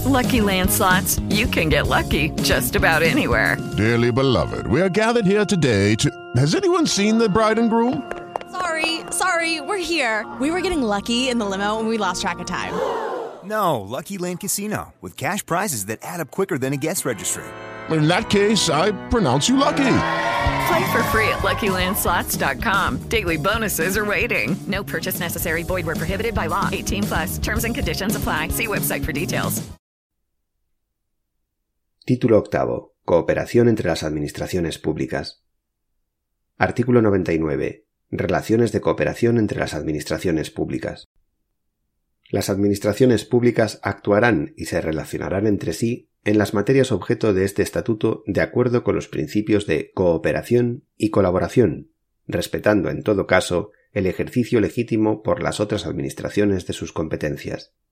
Lucky Land Slots, you can get lucky just about anywhere. Dearly beloved, we are gathered here today to... Has anyone seen the bride and groom? Sorry, we're here. We were getting lucky in the limo and we lost track of time. No, Lucky Land Casino, with cash prizes that add up quicker than a guest registry. In that case, I pronounce you lucky. Play for free at LuckyLandSlots.com. Daily bonuses are waiting. No purchase necessary. Void where prohibited by law. 18+. Terms and conditions apply. See website for details. Título octavo. Cooperación entre las administraciones públicas. Artículo 99. Relaciones de cooperación entre las administraciones públicas. Las administraciones públicas actuarán y se relacionarán entre sí en las materias objeto de este estatuto de acuerdo con los principios de cooperación y colaboración, respetando en todo caso el ejercicio legítimo por las otras administraciones de sus competencias.